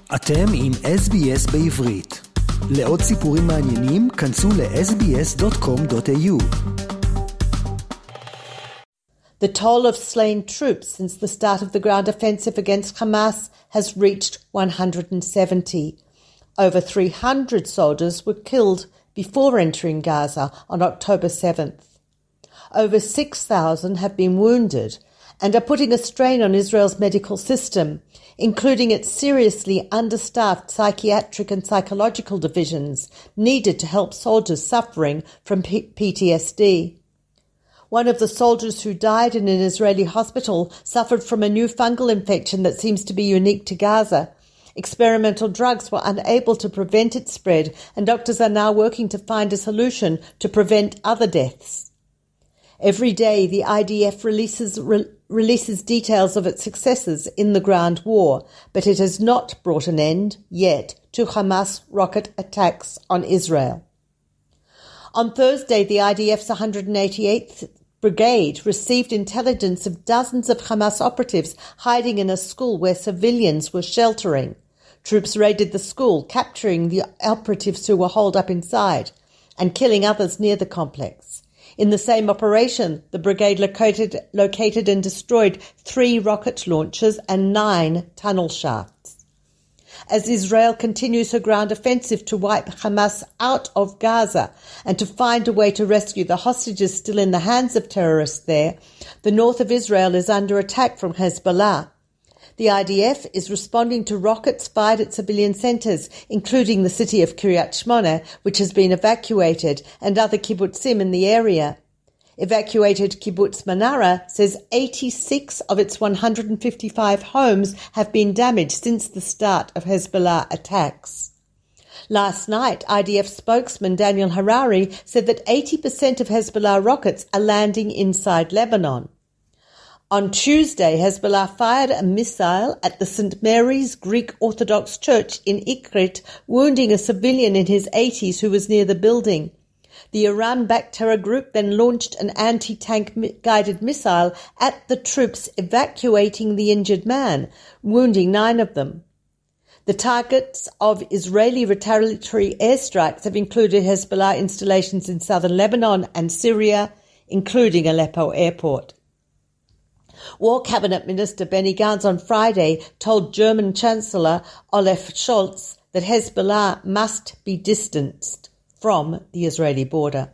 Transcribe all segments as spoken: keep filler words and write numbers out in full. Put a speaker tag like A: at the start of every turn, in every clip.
A: אתם עם אס בי אס בעברית. לעוד סיפורים מעניינים, כנסו ל-אס בי אס דוט קום דוט איי יו.
B: The toll of slain troops since the start of the ground offensive against Hamas has reached one hundred seventy. Over three hundred soldiers were killed before entering Gaza on October seventh. Over six thousand have been wounded and are putting a strain on Israel's medical system, including its seriously understaffed psychiatric and psychological divisions needed to help soldiers suffering from P T S D. One of the soldiers who died in an Israeli hospital suffered from a new fungal infection that seems to be unique to Gaza. Experimental drugs were unable to prevent its spread, and doctors are now working to find a solution to prevent other deaths. Every day, the I D F releases re- releases details of its successes in the ground war, but it has not brought an end, yet, to Hamas rocket attacks on Israel. On Thursday, the I D F's one hundred eighty-eighth Brigade received intelligence of dozens of Hamas operatives hiding in a school where civilians were sheltering. Troops raided the school, capturing the operatives who were holed up inside and killing others near the complex. In the same operation, the brigade located, located and destroyed three rocket launchers and nine tunnel shafts. As Israel continues her ground offensive to wipe Hamas out of Gaza and to find a way to rescue the hostages still in the hands of terrorists there, the north of Israel is under attack from Hezbollah. The I D F is responding to rockets fired at civilian centres, including the city of Kiryat Shmona, which has been evacuated, and other kibbutzim in the area. Evacuated kibbutz Manara says eighty-six of its one hundred fifty-five homes have been damaged since the start of Hezbollah attacks. Last night, I D F spokesman Daniel Harari said that eighty percent of Hezbollah rockets are landing inside Lebanon. On Tuesday, Hezbollah fired a missile at the Saint Mary's Greek Orthodox Church in Ikrit, wounding a civilian in his eighties who was near the building. The Iran-backed terror group then launched an anti-tank guided missile at the troops evacuating the injured man, wounding nine of them. The targets of Israeli retaliatory airstrikes have included Hezbollah installations in southern Lebanon and Syria, including Aleppo airport. War Cabinet Minister Benny Gantz on Friday told German Chancellor Olaf Scholz that Hezbollah must be distanced from the Israeli border.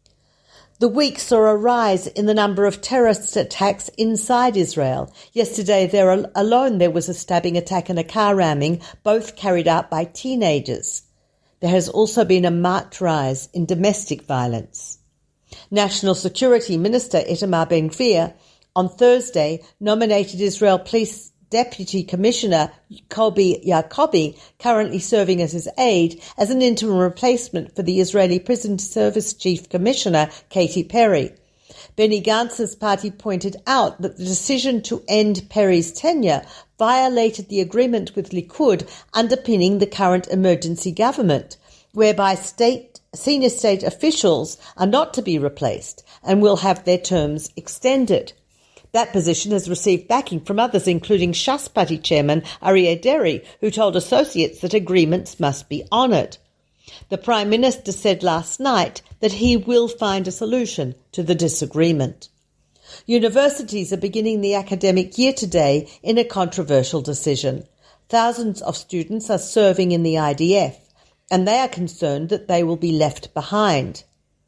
B: The week saw a rise in the number of terrorist attacks inside Israel. Yesterday there alone there was a stabbing attack and a car ramming, both carried out by teenagers. There has also been a marked rise in domestic violence. National Security Minister Itamar Ben-Gvir on Thursday nominated Israel Police Deputy Commissioner Kobi Yacobi, currently serving as his aide, as an interim replacement for the Israeli Prison Service Chief Commissioner Katy Perry. Benny Gantz's party pointed out that the decision to end Perry's tenure violated the agreement with Likud underpinning the current emergency government, whereby state senior state officials are not to be replaced and will have their terms extended. That position has received backing from others, including Shas Party chairman Aryeh Deri, who told associates that agreements must be honoured. The Prime Minister said last night that he will find a solution to the disagreement. Universities are beginning the academic year today in a controversial decision. Thousands of students are serving in the I D F, and they are concerned that they will be left behind.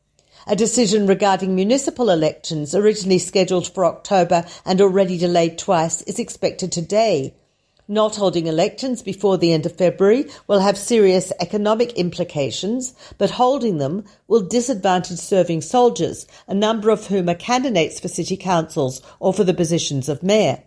B: A decision regarding municipal elections, originally scheduled for October and already delayed twice, is expected today. Not holding elections before the end of February will have serious economic implications, but holding them will disadvantage serving soldiers, a number of whom are candidates for city councils or for the positions of mayor.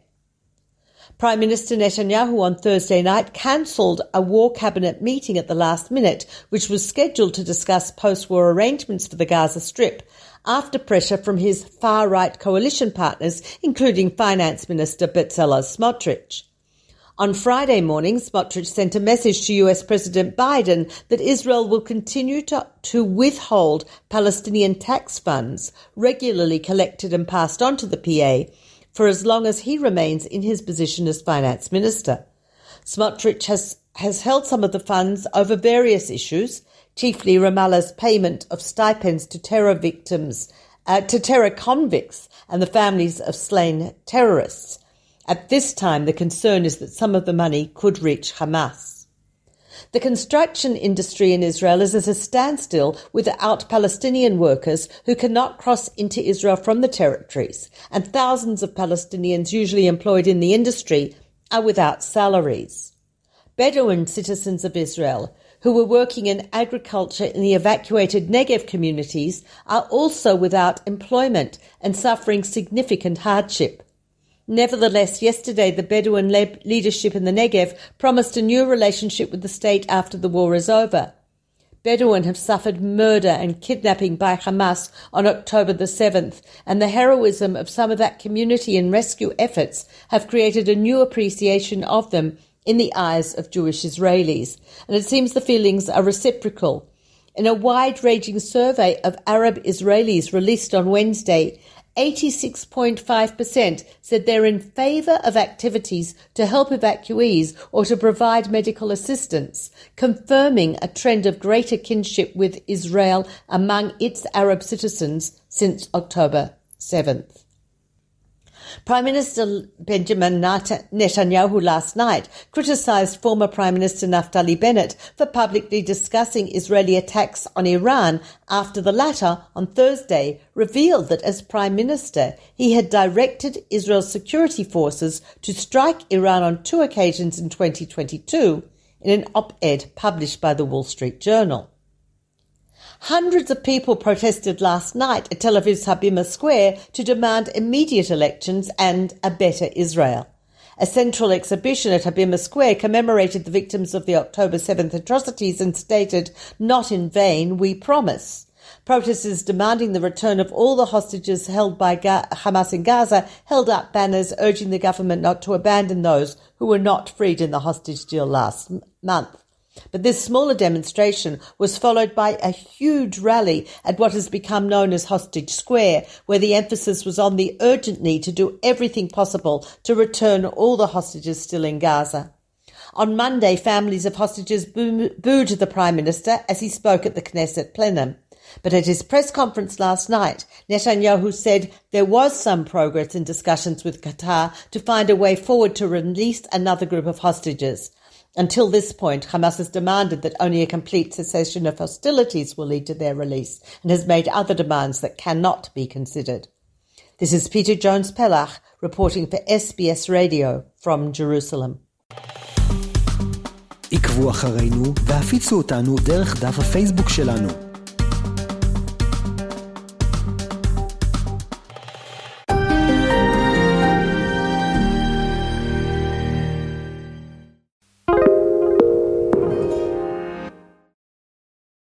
B: Prime Minister Netanyahu on Thursday night cancelled a war cabinet meeting at the last minute, which was scheduled to discuss post-war arrangements for the Gaza Strip, after pressure from his far-right coalition partners, including Finance Minister Bezalel Smotrich. On Friday morning, Smotrich sent a message to U S President Biden that Israel will continue to, to withhold Palestinian tax funds regularly collected and passed on to the P A for as long as he remains in his position as finance minister. Smotrich has has held some of the funds over various issues, chiefly Ramallah's payment of stipends to terror victims, uh, to terror convicts and the families of slain terrorists. At this time, the concern is that some of the money could reach Hamas. The construction industry in Israel is at a standstill without Palestinian workers who cannot cross into Israel from the territories, and thousands of Palestinians usually employed in the industry are without salaries. Bedouin citizens of Israel who were working in agriculture in the evacuated Negev communities are also without employment and suffering significant hardship. Nevertheless, yesterday the Bedouin le- leadership in the Negev promised a new relationship with the state after the war is over. Bedouin have suffered murder and kidnapping by Hamas on October the seventh, and the heroism of some of that community and rescue efforts have created a new appreciation of them in the eyes of Jewish Israelis, and it seems the feelings are reciprocal. In a wide-ranging survey of Arab Israelis released on Wednesday, eighty-six point five percent said they're in favour of activities to help evacuees or to provide medical assistance, confirming a trend of greater kinship with Israel among its Arab citizens since October seventh. Prime Minister Benjamin Netanyahu last night criticised former Prime Minister Naftali Bennett for publicly discussing Israeli attacks on Iran after the latter, on Thursday, revealed that as Prime Minister he had directed Israel's security forces to strike Iran on two occasions in twenty twenty-two in an op-ed published by the Wall Street Journal. Hundreds of people protested last night at Tel Aviv's Habima Square to demand immediate elections and a better Israel. A central exhibition at Habima Square commemorated the victims of the October seventh atrocities and stated, "Not in vain, we promise." Protesters demanding the return of all the hostages held by Ga- Hamas in Gaza held up banners urging the government not to abandon those who were not freed in the hostage deal last m- month. But this smaller demonstration was followed by a huge rally at what has become known as Hostage Square, where the emphasis was on the urgent need to do everything possible to return all the hostages still in Gaza. On Monday, families of hostages boo- booed the Prime Minister as he spoke at the Knesset plenum. But at his press conference last night, Netanyahu said there was some progress in discussions with Qatar to find a way forward to release another group of hostages. Until this point, Hamas has demanded that only a complete cessation of hostilities will lead to their release and has made other demands that cannot be considered. This is Peter Jones-Pellach reporting for S B S Radio from Jerusalem.
A: עקבו אחרינו והפיצו אותנו דרך דף הפייסבוק שלנו.